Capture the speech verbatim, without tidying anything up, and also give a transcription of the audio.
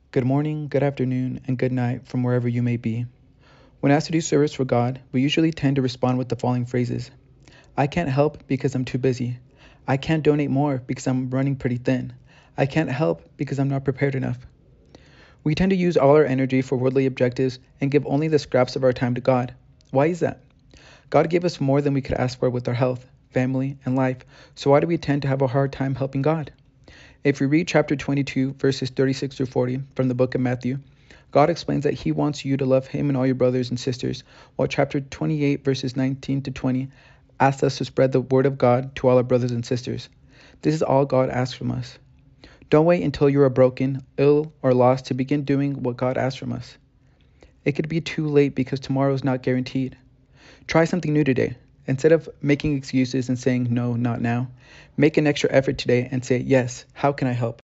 Good morning, good afternoon, and good night from wherever you may be. When asked to do service for God, we usually tend to respond with the following phrases: I can't help because I'm too busy. I can't donate more because I'm running pretty thin. I can't help because I'm not prepared enough. We tend to use all our energy for worldly objectives and give only the scraps of our time to God. Why is that? God gave us more than we could ask for with our health, family, and life, so why do we tend to have a hard time helping God? If we read chapter twenty-two, verses thirty-six through forty from the book of Matthew, God explains that He wants you to love Him and all your brothers and sisters, while chapter twenty-eight, verses nineteen to twenty, asks us to spread the word of God to all our brothers and sisters. This is all God asks from us. Don't wait until you are broken, ill, or lost to begin doing what God asks from us. It could be too late because tomorrow is not guaranteed. Try something new today. Instead of making excuses and saying no, not now, make an extra effort today and say, yes, how can I help?